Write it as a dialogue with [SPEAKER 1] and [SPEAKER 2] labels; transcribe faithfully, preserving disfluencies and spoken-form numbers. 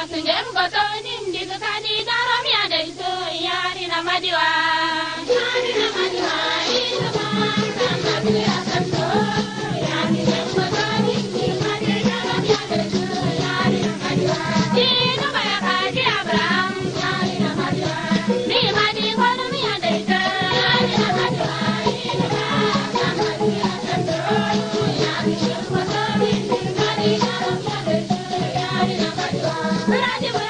[SPEAKER 1] Sunjem goto nindi kadi daram ya daiso yari na madiwa yari na madiwa ina ma sama ya santo yari na goto nindi kadi daram ya daiso yari na madiwa ina ma kadi Abraham yari na madiwa ni madi kono mi ya daiso yari na madiwa ina ma sama ya santo yari na goto nindi kadi daram ya daiso yari na madiwa.